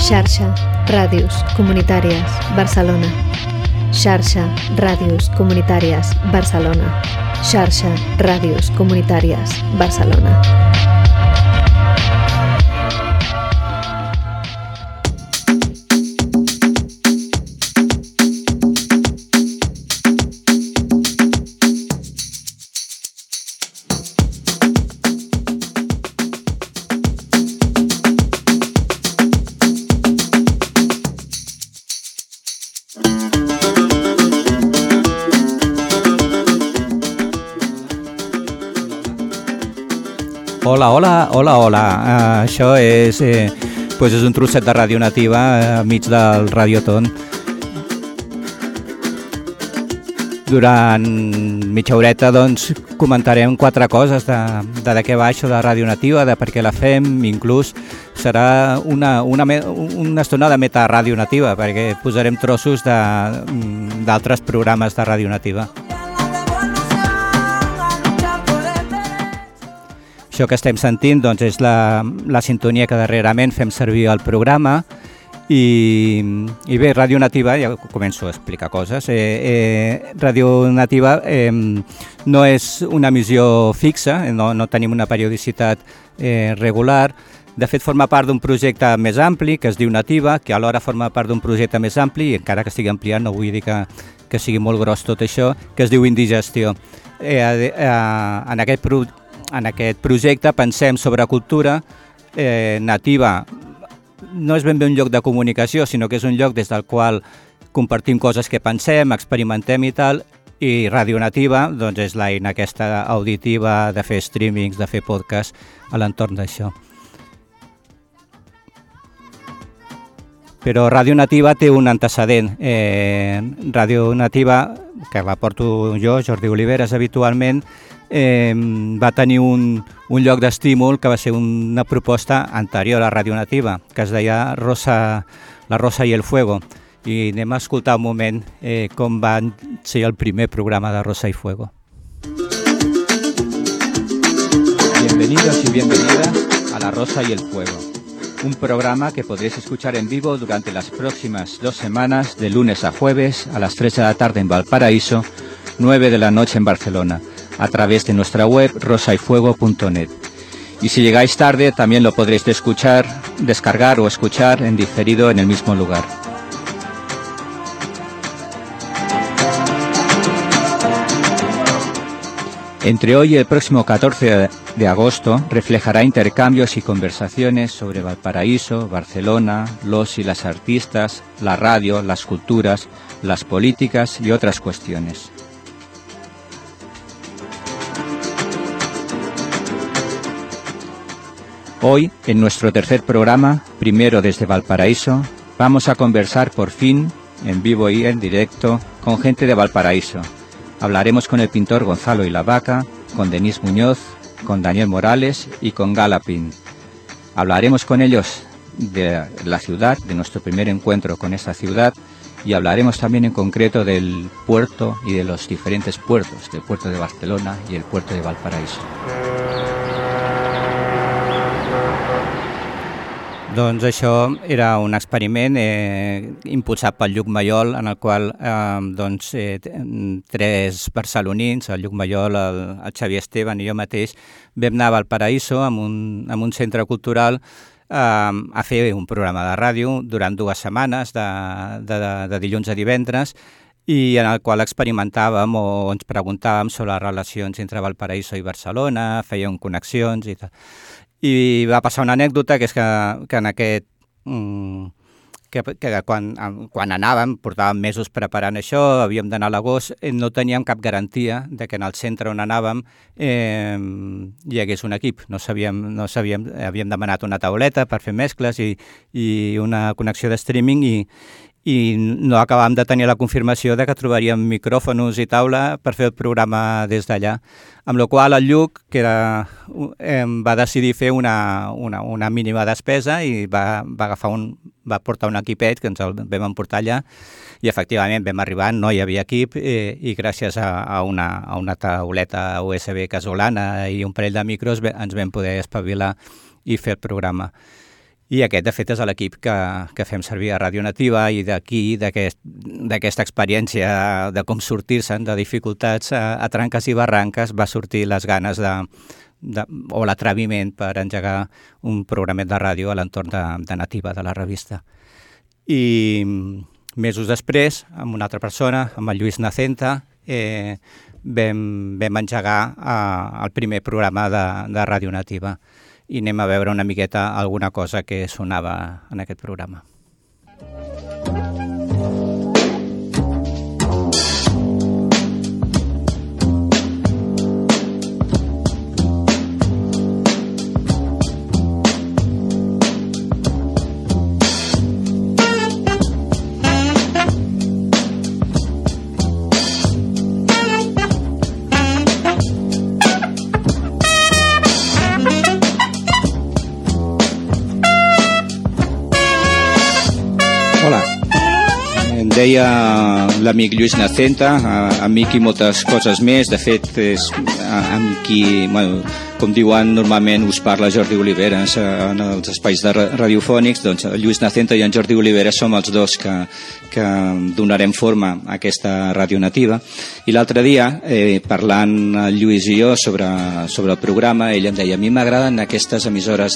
Xarxa Ràdios Comunitàries Barcelona. Xarxa Ràdios Comunitàries Barcelona. Xarxa Ràdios Comunitàries Barcelona. Hola. Això és un trosset de ràdio nativa enmig del Radioton. Durant mitja horeta comentarem 4 coses de què va això de ràdio nativa, de per què la fem, inclús serà una estona de metaràdio nativa, perquè posarem trossos d'altres programes de ràdio nativa. Això que estem sentint és la sintonia que darrerament fem servir al programa i bé, Ràdio Nativa, ja començo a explicar coses. Ràdio Nativa no és una emissió fixa, no tenim una periodicitat regular. De fet, forma part d'un projecte més ampli que es diu Nativa, que alhora forma part d'un projecte més ampli, i encara que estigui ampliant, no vull dir que sigui molt gros tot això, que es diu Indigestió. En aquest projecte pensem sobre cultura nativa. No és ben bé un lloc de comunicació, sinó que és un lloc des del qual compartim coses que pensem, experimentem i tal, i Ràdio Nativa és l'eina aquesta auditiva de fer streamings, de fer podcast a l'entorn d'això. Però Ràdio Nativa té un antecedent. Ràdio Nativa, que la porto jo, Jordi Oliveres, habitualment, va tenir un lloc d'estímul que va ser una proposta anterior a Ràdio Nativa, que es deia La Rosa y el Fuego. I anem a escoltar un moment com va ser el primer programa de Rosa y Fuego. Bienvenidos y bienvenidas a La Rosa y el Fuego, un programa que podréis escuchar en vivo durante las próximas 2 semanas, de lunes a jueves, a las 3 de la tarde en Valparaíso, 9 de la noche en Barcelona, a través de nuestra web rosayfuego.net. Y si llegáis tarde, también lo podréis descargar o escuchar en diferido en el mismo lugar. Entre hoy y el próximo 14 de agosto reflejará intercambios y conversaciones sobre Valparaíso, Barcelona, los y las artistas, la radio, las culturas, las políticas y otras cuestiones. Hoy, en nuestro tercer programa, primero desde Valparaíso, vamos a conversar por fin, en vivo y en directo, con gente de Valparaíso. Hablaremos con el pintor Gonzalo Ilavaca, con Denise Muñoz, con Daniel Morales y con Galapin. Hablaremos con ellos de la ciudad, de nuestro primer encuentro con esta ciudad, y hablaremos también en concreto del puerto y de los diferentes puertos, del puerto de Barcelona y el puerto de Valparaíso. Doncs això era un experiment impulsat pel Lluc Mayol, en el qual 3 barcelonins, el Lluc Mayol, el Xavier Esteban i jo mateix, vam anar a Valparaíso amb un centre cultural a fer un programa de ràdio durant 2 setmanes, de dilluns a divendres, i en el qual experimentàvem o ens preguntàvem sobre les relacions entre Valparaíso i Barcelona, fèiem connexions i tal. I va passar una anècdota, que és que en aquest... que quan anàvem, portàvem mesos preparant això, havíem d'anar a l'agost, no teníem cap garantia de que en el centre on anàvem hi hagués un equip. No sabíem, havíem demanat una tauleta per fer mescles i una connexió de streaming i no acabàvem de tenir la confirmació de que trobaríem micròfons i taula per fer el programa des d'allà. Amb la qual el Lluc, va decidir fer una mínima despesa i va portar un equipet que ens el vam emportar allà, i efectivament vam arribar, no hi havia equip, i gràcies a una tauleta USB casolana i un parell de micros ens vam poder espavilar i fer el programa. I aquest, de fet, és l'equip que fem servir a Ràdio Nativa, i d'aquí, d'aquesta experiència de com sortir-se'n de dificultats a tranques i barranques, va sortir les ganes o l'atreviment per engegar un programet de ràdio a l'entorn de Nativa, de la revista. I mesos després, amb una altra persona, amb el Lluís Nacenta, vam engegar el primer programa de Ràdio Nativa, i anem a veure una miqueta alguna cosa que sonava en aquest programa. Deia l'amic Lluís Nacenta, amic i moltes coses més. De fet, és amb qui, com diuen normalment, us parla Jordi Oliveres en els espais radiofònics. Doncs Lluís Nacenta i en Jordi Oliveres som els dos que donarem forma a aquesta Ràdio Nativa. I l'altre dia, parlant el Lluís i jo sobre el programa, ell em deia: a mi m'agraden aquestes emissores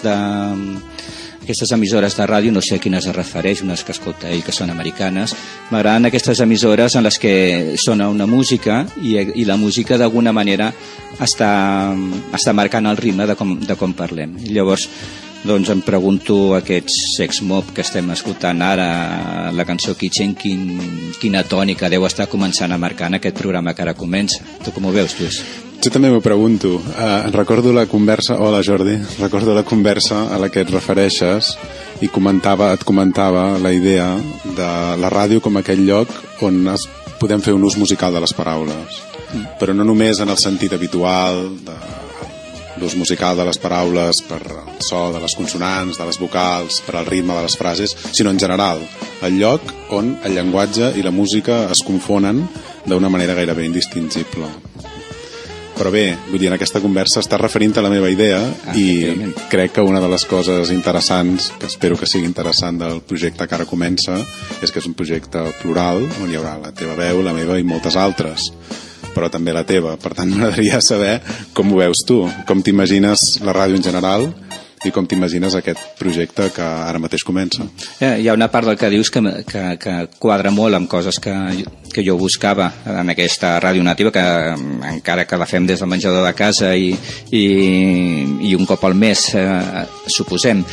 de ràdio, no sé a quines es refereix, unes que escolta ell que són americanes. M'agraden aquestes emissores en les que sona una música i la música d'alguna manera està marcant el ritme de com parlem. I llavors doncs em pregunto, aquests Sex-Mob que estem escoltant ara, la cançó Kitchen, quina tònica deu estar començant a marcar en aquest programa que ara comença. Tu com ho veus, Lluís? Jo també m'ho pregunto. Recordo la conversa... Hola, Jordi. Recordo la conversa a la que et refereixes i et comentava la idea de la ràdio com aquell lloc on podem fer un ús musical de les paraules. Però no només en el sentit habitual de l'ús musical de les paraules per el so de les consonants, de les vocals, per al ritme de les frases, sinó en general. El lloc on el llenguatge i la música es confonen d'una manera gairebé indistingible. Però bé, vull dir, en aquesta conversa estàs referint a la meva idea i crec que una de les coses interessants, que espero que sigui interessant, del projecte que ara comença, és que és un projecte plural on hi haurà la teva veu, la meva i moltes altres, però també la teva. Per tant, m'agradaria saber com ho veus tu, com t'imagines la ràdio en general i com t'imagines aquest projecte que ara mateix comença. Hi ha una part del que dius que quadra molt amb coses que jo buscava en aquesta Ràdio Nativa, que encara que la fem des del menjador de casa i un cop al mes, suposem,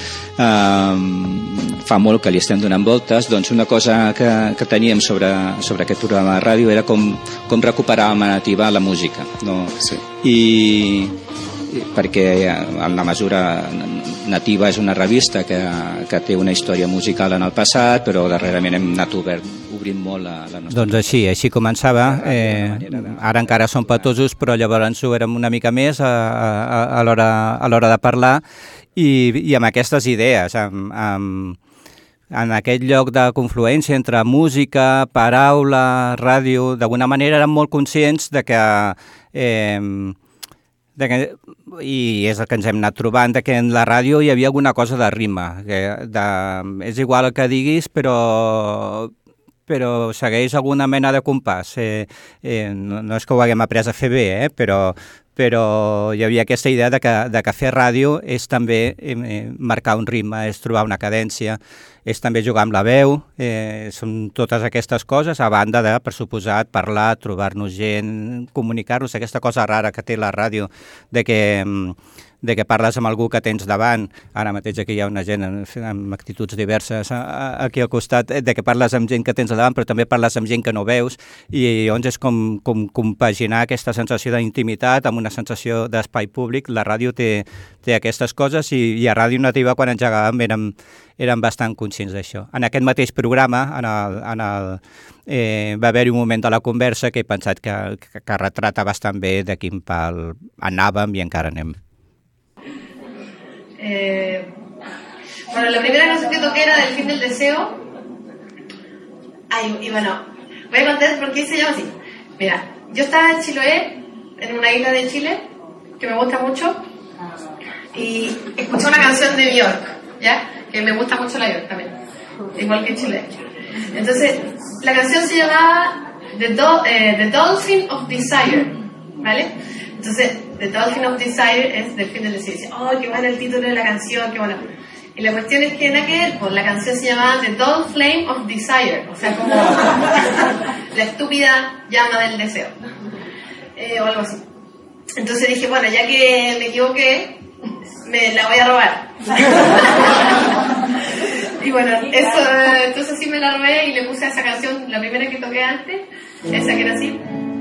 fa molt que li estem donant voltes. Doncs una cosa que teníem sobre aquest programa de ràdio era com recuperar amb Nativa la música, no? Sí. I perquè en la mesura Nativa és una revista que té una història musical en el passat, però darrerament hem anat obrint molt la nostra... Doncs així començava. Ara encara som petosos, però llavors ho érem una mica més a l'hora de parlar i amb aquestes idees, en aquest lloc de confluència entre música, paraula, ràdio. D'alguna manera érem molt conscients de que i és el que ens hem anat trobant, que en la ràdio hi havia alguna cosa de ritme, és igual el que diguis, però segueix alguna mena de compàs. No és que ho haguem après a fer bé, però hi havia aquesta idea de que fer ràdio és també marcar un ritme, és trobar una cadència, és també jugar amb la veu, són totes aquestes coses, a banda de, per suposat, parlar, trobar-nos gent, comunicar-nos, aquesta cosa rara que té la ràdio, de que parles amb algú que tens davant. Ara mateix aquí hi ha una gent amb actituds diverses aquí al costat, de que parles amb gent que tens davant, però també parles amb gent que no veus, i llavors és com compaginar aquesta sensació d'intimitat amb una sensació d'espai públic. La ràdio té aquestes coses, i a Ràdio Nativa, quan engegàvem, érem bastant conscients d'això. En aquest mateix programa va haver-hi un moment de la conversa que he pensat que retrata bastant bé de quin pal anàvem i encara anem. Bueno, la primera canción que toqué era del Fin del Deseo. Y bueno, voy a contar por qué se llama así. Mira, yo estaba en Chiloé, en una isla de Chile, que me gusta mucho, y escuché una canción de Björk, ¿ya? que me gusta mucho la York también, igual que Chile. Entonces, la canción se llamaba The Dolphin of Desire, ¿vale? Entonces, The Dolphin of Desire es Delfín del Deseo. Dice, oh, qué bueno el título de la canción, qué bueno. Y la cuestión es que pues la canción se llamaba The Dull Flame of Desire, o sea, como la estúpida llama del deseo, o algo así. Entonces dije, bueno, ya que me equivoqué, me la voy a robar. Y bueno, eso, entonces sí me la robé y le puse a esa canción, la primera que toqué antes, esa que era así.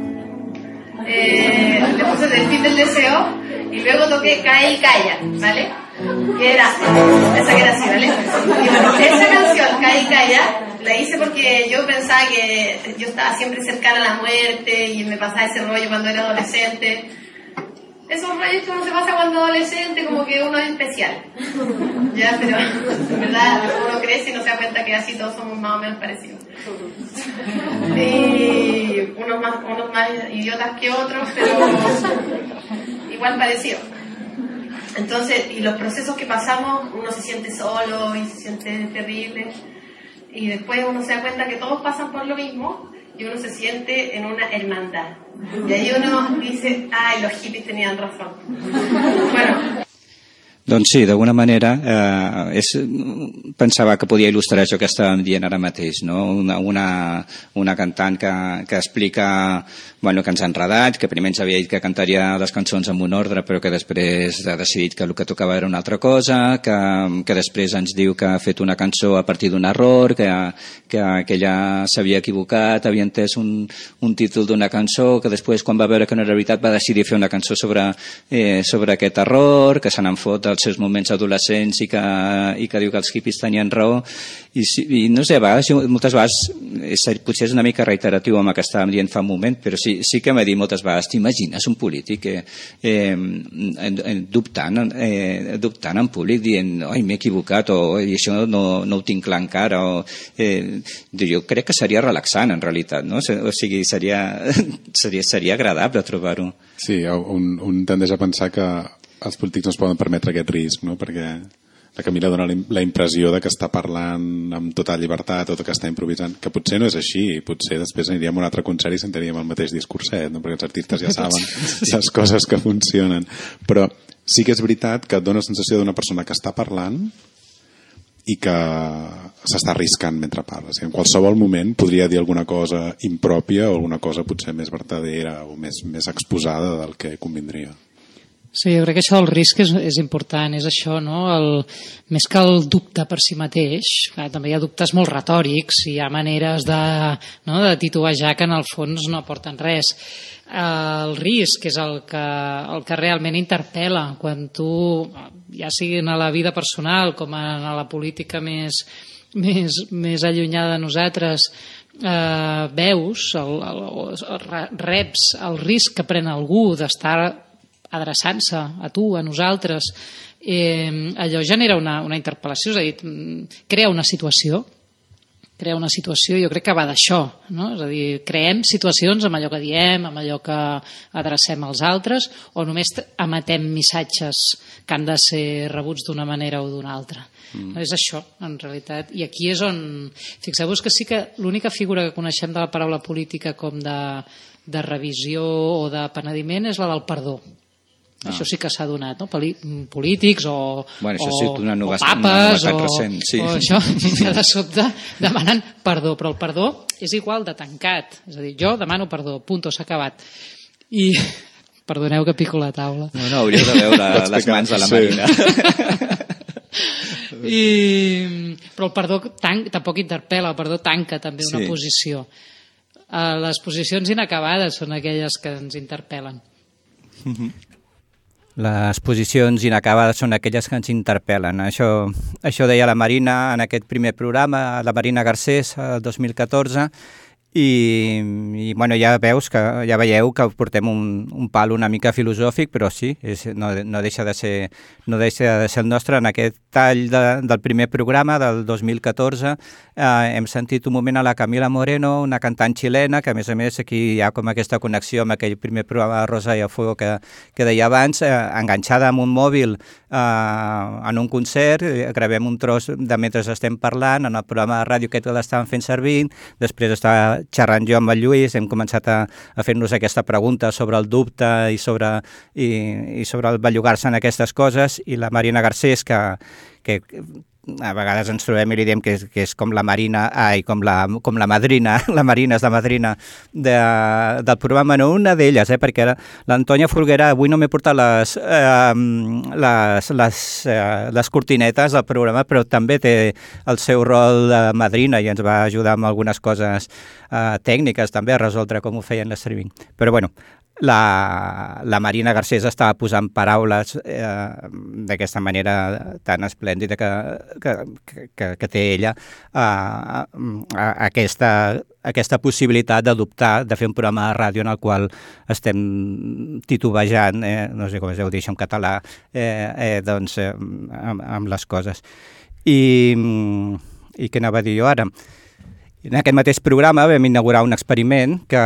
Le puse Delfín del Deseo y luego toqué Cae y Calla, ¿vale? Que era esa que era así, ¿vale? Y bueno, esa canción, Cae y Calla, la hice porque yo pensaba que yo estaba siempre cercana a la muerte y me pasaba ese rollo cuando era adolescente. Esos rollos que uno se pasa cuando adolescente, como que uno es especial. Ya, pero en verdad uno crece y no se da cuenta que así todos somos más o menos parecidos. Y unos más idiotas que otros, pero igual parecidos. Entonces, y los procesos que pasamos, uno se siente solo y se siente terrible. Y después uno se da cuenta que todos pasan por lo mismo y uno se siente en una hermandad. Y ahí uno dice, ay, los hippies tenían razón. Bueno. Doncs sí, d'alguna manera pensava que podia il·lustrar això que estàvem dient ara mateix, no? Una cantant que explica que ens ha enredat, que primer ens havia dit que cantaria les cançons en un ordre però que després ha decidit que el que tocava era una altra cosa, que després ens diu que ha fet una cançó a partir d'un error, que ella s'havia equivocat, havia entès un títol d'una cançó, que després quan va veure que no era veritat va decidir fer una cançó sobre aquest error, que se n'en fot dels seus moments adolescents i que diu que els hippies tenien raó i no sé, moltes vegades potser és una mica reiteratiu amb el que estàvem dient fa un moment, però sí que m'he dit moltes vegades, t'imagines un polític dubtant en públic dient, oi, m'he equivocat o això no ho tinc clar encara jo crec que seria relaxant en realitat, no? O sigui, seria agradable trobar-ho. Sí, un tendeix a pensar que els polítics no es poden permetre aquest risc, no? Perquè la Camila dona la impressió de que està parlant amb total llibertat o que està improvisant, que potser no és així, potser després aniríem a un altre concert i sentiríem el mateix discurset, no? Perquè els artistes ja saben les coses que funcionen. Però sí que és veritat que et dona la sensació d'una persona que està parlant i que s'està arriscant mentre parla. En qualsevol moment podria dir alguna cosa impròpia o alguna cosa potser més vertadera o més exposada del que convindria. Sí, jo crec que això del risc és important, és això, no? Més que el dubte per si mateix, també hi ha dubtes molt retòrics i hi ha maneres de titubejar que en el fons no aporten res. El risc és el que realment interpel·la quan tu, ja sigui en la vida personal com en la política més allunyada de nosaltres, veus, reps el risc que pren algú d'estar adreçant-se a tu, a nosaltres, allò genera una interpel·lació, és a dir, crea una situació, jo crec que va d'això, no? És a dir, creem situacions amb allò que diem, amb allò que adrecem als altres, o només emetem missatges que han de ser rebuts d'una manera o d'una altra. És això, en realitat. I aquí és on... Fixeu-vos que sí que l'única figura que coneixem de la paraula política com de revisió o de penediment és la del perdó. Això sí que s'ha donat, no? Polítics o papes o això, ja de sobte demanen perdó, però el perdó és igual de tancat, és a dir, jo demano perdó, punto, s'ha acabat. I perdoneu que pico la taula. No, hauríeu de veure les mans de la Marina. Però el perdó tampoc interpel·la, el perdó tanca també una posició. Les posicions inacabades són aquelles que ens interpel·len. Les posicions inacabades són aquelles que ens interpel·len. Això deia la Marina en aquest primer programa, la Marina Garcés, el 2014, i bueno, ja veieu que portem un pal una mica filosòfic, però sí, no deixa de ser el nostre. En aquest tall del primer programa del 2014 hem sentit un moment a la Camila Moreno, una cantant xilena, que a més aquí hi ha com aquesta connexió amb aquell primer programa de Rosa y a Fuego que deia abans, enganxada amb un mòbil en un concert, gravem un tros de mentre estem parlant, en el programa de ràdio que l'estàvem fent servir, després està xerrant jo amb el Lluís, hem començat a fer-nos aquesta pregunta sobre el dubte i sobre el bellugar-se en aquestes coses, i la Marina Garcés, que a vegades ens trobem i li diem que és com la Marina, com la madrina, la Marina és la madrina del programa, no una d'elles, perquè l'Antònia Folguera, avui no m'he portat les cortinetes del programa, però també té el seu rol de madrina i ens va ajudar amb algunes coses tècniques també a resoldre com ho feien l'streaming. Però bueno, la Marina Garcés estava posant paraules d'aquesta manera tan esplèndida que té ella aquesta possibilitat d'adoptar, de fer un programa de ràdio en el qual estem titubejant, no sé com es deu dir això en català, doncs amb les coses. I què anava a dir jo ara? En aquest mateix programa vam inaugurar un experiment que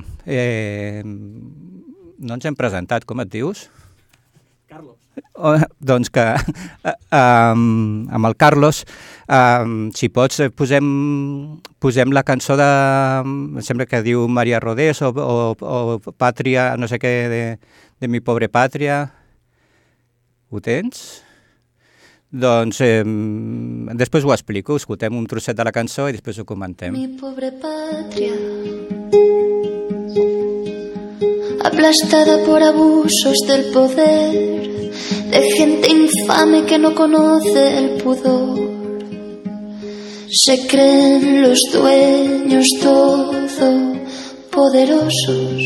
no ens hem presentat. Com et dius? Carlos. Doncs que amb el Carlos, si pots, posem la cançó em sembla que diu María Rodés o Pàtria, no sé què, de mi pobre pàtria. Ho tens? Doncs després ho explico, escoltem un trosset de la cançó i després ho comentem. Mi pobre patria, aplastada por abusos del poder, de gente infame que no conoce el pudor. Se creen los dueños todopoderosos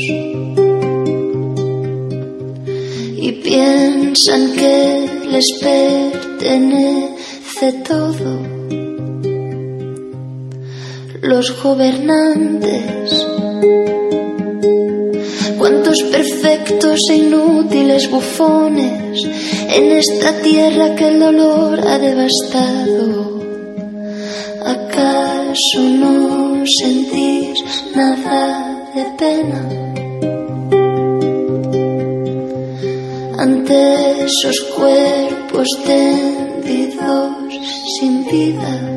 y piensan que les pertenece todo. Los gobernantes, cuántos perfectos e inútiles bufones en esta tierra que el dolor ha devastado. ¿Acaso no sentís nada de pena ante esos cuerpos tendidos sin vida?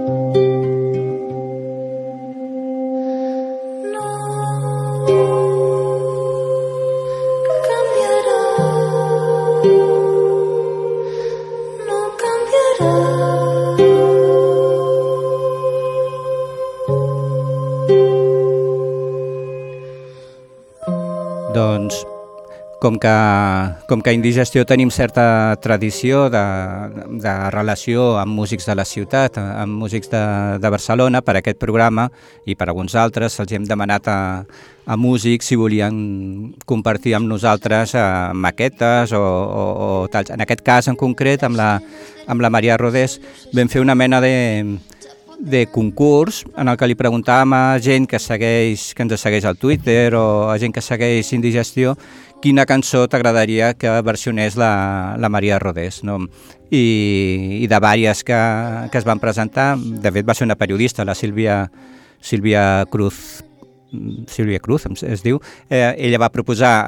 Doncs, com que a Indigestió tenim certa tradició de relació amb músics de la ciutat, amb músics de Barcelona, per aquest programa i per alguns altres, els hem demanat a músics si volien compartir amb nosaltres maquetes o tals. En aquest cas, en concret, amb la Maria Rodés, vam fer una mena de concurs en el que li preguntàvem a gent que ens segueix al Twitter o a gent que segueix Indigestió quina cançó t'agradaria que versionés la Maria Rodés, no? I de vàries que es van presentar, de fet va ser una periodista, la Sílvia Cruz es diu, ella va proposar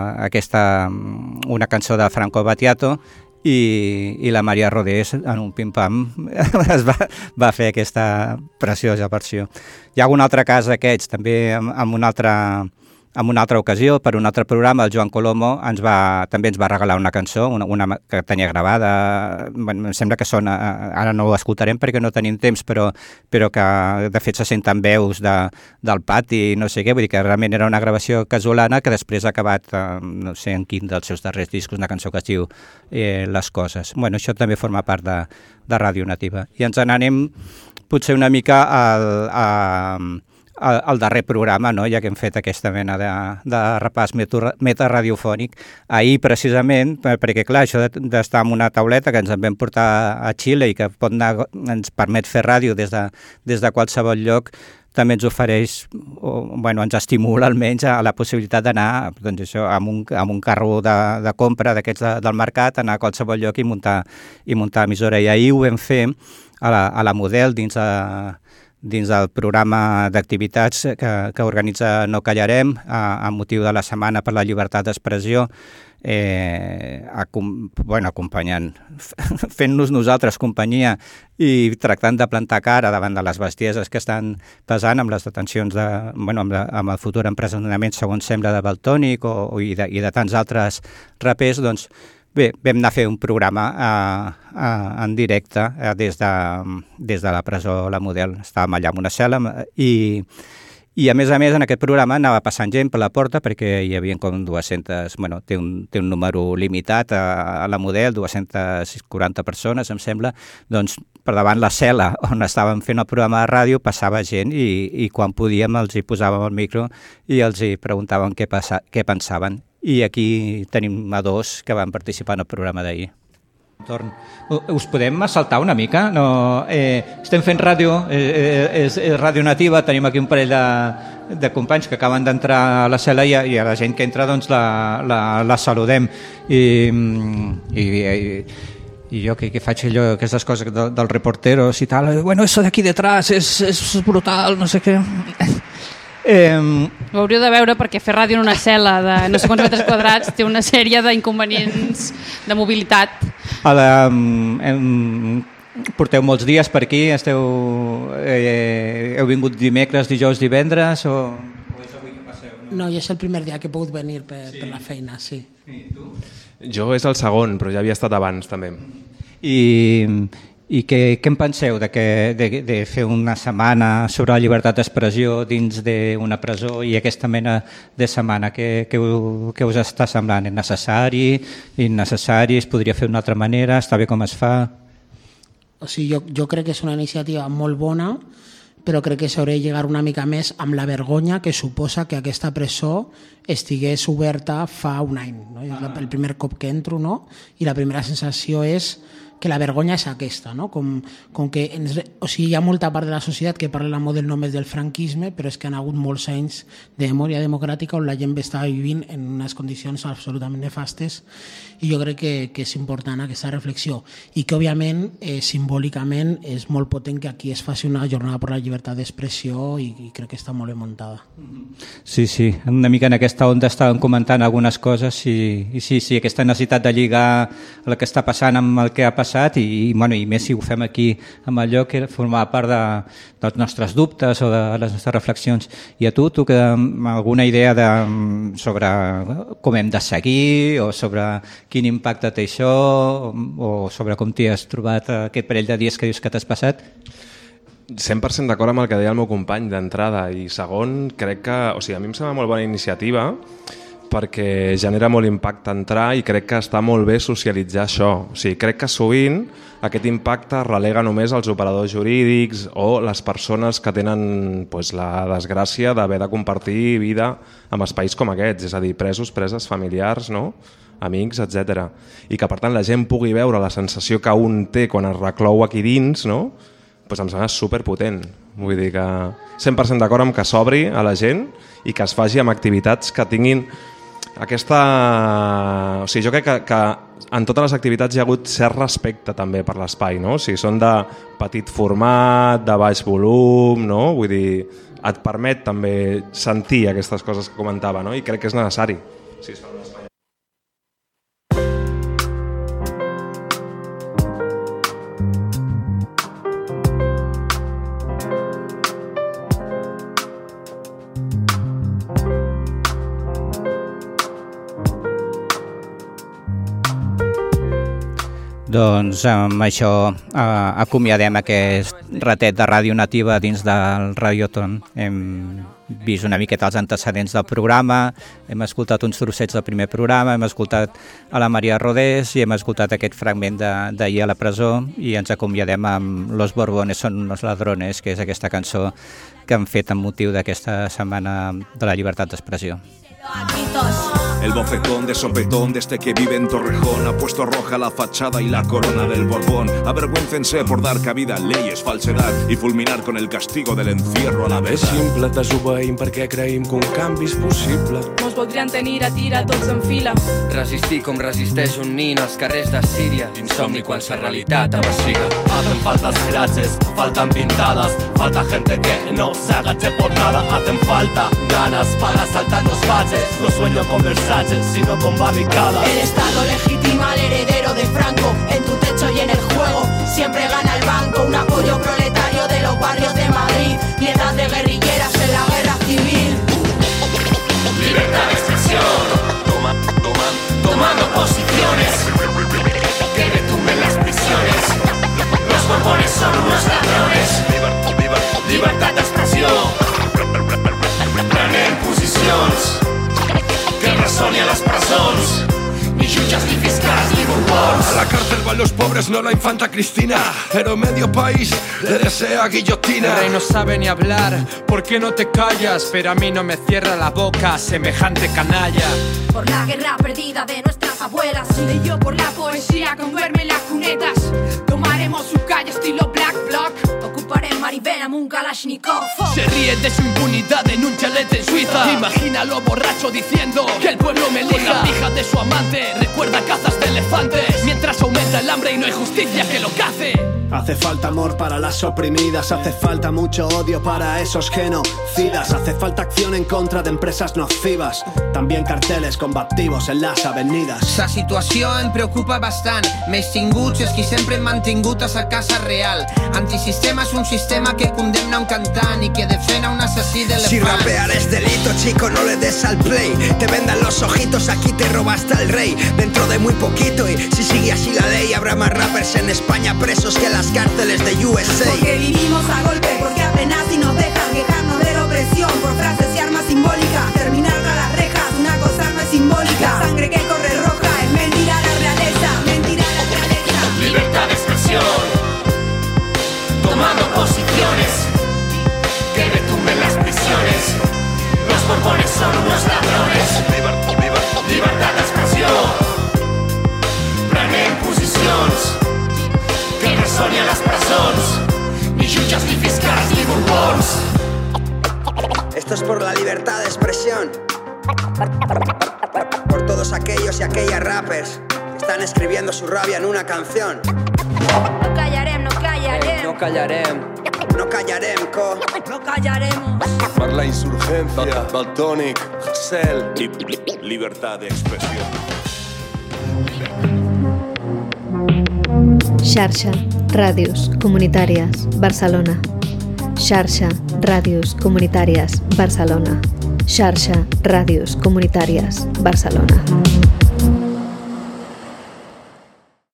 una cançó de Franco Battiato i la Maria Rodés en un pim-pam va fer aquesta preciosa versió. Hi ha algun altre cas d'aquests, també en una altra ocasió, per un altre programa, el Joan Colomo també ens va regalar una cançó, una que tenia gravada, em sembla que sona, ara no ho escoltarem perquè no tenim temps, però que de fet se senten veus del pati, no sé què, vull dir que realment era una gravació casolana que després ha acabat, no sé en quin dels seus darrers discos, una cançó que es diu Les coses. Bueno, això també forma part de Ràdio Nativa. I ens n'anem potser una mica al darrer programa, no? Ja que hem fet aquesta mena de repàs metaradiofònic. Ahir, precisament, perquè clar, això d'estar en una tauleta que ens en vam portar a Xile i que ens permet fer ràdio des de qualsevol lloc, també ens ofereix, ens estimula almenys a la possibilitat d'anar amb un carro de compra d'aquests del mercat, anar a qualsevol lloc i muntar emissora. I ahir ho vam fer a la Model dins del programa d'activitats que organitza No Callarem amb motiu de la Setmana per la Llibertat d'Expressió, acompanyant, fent-nos nosaltres companyia i tractant de plantar cara davant de les bestieses que estan pesant amb les detencions amb el futur empresonament, segons sembla, de Valtònic i de tants altres rapers. Doncs bé, vam anar a fer un programa en directe des de la presó La Model. Estàvem allà en una cel·la i a més, en aquest programa anava passant gent per la porta perquè hi havia com 200, té un número limitat a La Model, 240 persones, em sembla. Doncs per davant la cel·la on estàvem fent el programa de ràdio passava gent i quan podíem els hi posàvem el micro i els hi preguntàvem què pensaven. I aquí tenim a 2 que van participar en el programa d'ahir. Us podem assaltar una mica? Estem fent ràdio, és ràdio nativa, tenim aquí un parell de companys que acaben d'entrar a la cel·la i a la gent que entra doncs la saludem. I jo que faig allò, aquestes coses dels reporteros i tal, eso d'aquí detrás és brutal, no sé què... Ho hauríeu de veure perquè fer ràdio en una cel·la de no sé quants metres quadrats té una sèrie d'inconvenients de mobilitat. Porteu molts dies per aquí? Heu vingut dimecres, dijous, divendres o és avui que passeu? No, ja és el primer dia que he pogut venir per la feina, sí. I tu? Jo és el segon, però ja havia estat abans també. I què en penseu de fer una setmana sobre la llibertat d'expressió dins d'una presó i aquesta mena de setmana? Què us està semblant? És necessari? Innecessari? Es podria fer d'una altra manera? Està bé com es fa? O sigui, jo crec que és una iniciativa molt bona, però crec que s'hauria de llegar una mica més amb la vergonya que suposa que aquesta presó estigués oberta fa un any. No? El primer cop que entro, no? I la primera sensació és que la vergonya és aquesta, no? Com que hi ha molta part de la societat que parla la Model només del franquisme, però és que han hagut molts anys de memòria democràtica on la gent estava vivint en unes condicions absolutament nefastes i jo crec que és important aquesta reflexió i que òbviament simbòlicament és molt potent que aquí es faci una jornada per la llibertat d'expressió i crec que està molt ben muntada. Sí, una mica en aquesta onda estàvem comentant algunes coses i sí, aquesta necessitat de lligar el que està passant amb el que ha passat i més si ho fem aquí amb allò que formava part dels nostres dubtes o de les nostres reflexions. I a tu que alguna idea sobre com hem de seguir o sobre quin impacte té això o sobre com t'hi has trobat aquest parell de dies que dius que t'has passat? 100% d'acord amb el que deia el meu company d'entrada i segon, crec que, a mi em sembla molt bona iniciativa perquè genera molt impacte entrar i crec que està molt bé socialitzar això. Crec que sovint aquest impacte relega només als operadors jurídics o les persones que tenen la desgràcia d'haver de compartir vida amb espais com aquests, és a dir, presos, preses familiars, no? Amics, etc. I que per tant la gent pugui veure la sensació que un té quan es reclou aquí dins, no? Em sembla superpotent. Vull dir que 100% d'acord amb que s'obri a la gent i que es faci amb activitats que tinguin aquesta... jo crec que en totes les activitats hi ha hagut cert respecte també per l'espai, no? Són de petit format, de baix volum, no? Vull dir, et permet també sentir aquestes coses que comentava, no? I crec que és necessari. Sí, es fa un espai. Doncs amb això acomiadem aquest ratet de ràdio nativa dins del Radioton. Hem vist una miqueta els antecedents del programa, hem escoltat uns trossets del primer programa, hem escoltat a la Maria Rodés i hem escoltat aquest fragment d'ahir a la presó i ens acomiadem amb Los Borbones son unos ladrones, que és aquesta cançó que han fet amb motiu d'aquesta setmana de la llibertat d'expressió. El bofetón de sopetón de este que vive en Torrejón ha puesto roja la fachada y la corona del Borbón. Avergüéncense por dar cabida a leyes, falsedad i fulminar con el castigo del encierro a la vez. És simple, desobeïm perquè creïm que un canvi és possible. Mos voldrien tenir a tira tots en fila. Resistir com resisteix un nin als carrers de Síria. Insomni quan la realitat avasiga. Hacen falta frases, faltan pintadas, falta gente que no se agache por nada. Hacen falta ganas para saltar los baches. No sueño con Versace, sino con barricadas. El Estado legitima al heredero de Franco. En tu techo y en el juego siempre gana el banco. Un apoyo proletario de los barrios de Madrid. Piedras de guerrilleras en la guerra civil. Libertad de expresión, tomando posiciones que retumben las prisiones. Los borbones son unos ladrones. Libertad de expresión, prenen posicions que resoni a les presons. Ni jutges, ni fiscals, ni borbons. A la cárcel van los pobres, no la infanta Cristina, pero medio país le desea guillotina. El rey no sabe ni hablar, ¿por qué no te callas? Pero a mí no me cierra la boca semejante canalla. Por la guerra perdida de nuestras abuelas. Y yo por la poesía con verme en las cunetas. Tomaremos su calle estilo Black Bloc. Ocuparé Maribel un Kalashnikov. Se ríe de su impunidad en un chalet en Suiza. Imagínalo borracho diciendo que el pueblo me elija. Con la pija de su amante recuerda cazas de elefantes. Mientras aumenta el hambre y no hay justicia que lo cace. Hace falta amor para las oprimidas, hace falta mucho odio para esos genocidas, hace falta acción en contra de empresas nocivas, también carteles combativos en les avenides. La situació em preocupa bastant, més tinguts és qui sempre hem mantingut a sa casa real. Antisistema és un sistema que condemna un cantant i que defena un assassí d'elefants. Si rapear es delito, chico, no le des al play. Te vendan los ojitos, aquí te robaste al rey. Dentro de muy poquito y si sigue así la ley, habrá más rappers en España presos que las cárceles de USA. Porque vivimos a golpe, porque apenas si nos dejan quejarnos de la opresión por frases y armas simbólicas. Terminar tras las rejas, una cosa no es simbólica. La sangre que corre roja es mentira a la realeza, mentira a la realeza. Libertad de expresión, tomando posiciones que retumben las prisiones. Los borbones son unos ladrones. Libertad de expresión, prenen posicions que resoni a les presons. Ni jutges, ni fiscals, ni borbons. Esto es por la libertad de expresión, por todos aquellos y aquellas rappers que están escribiendo su rabia en una canción. No callarem, no callarem. No callarem. No callarem, co. No callaremos. Per la insurgència del tònic, cel. Libertad de expresión. Xarxa Ràdios Comunitàries Barcelona. Xarxa Ràdios Comunitàries Barcelona. Xarxa Ràdios Comunitàries Barcelona.